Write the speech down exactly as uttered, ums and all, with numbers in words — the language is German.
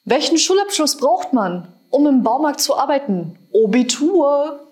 Welchen Schulabschluss braucht man, um im Baumarkt zu arbeiten? Abitur.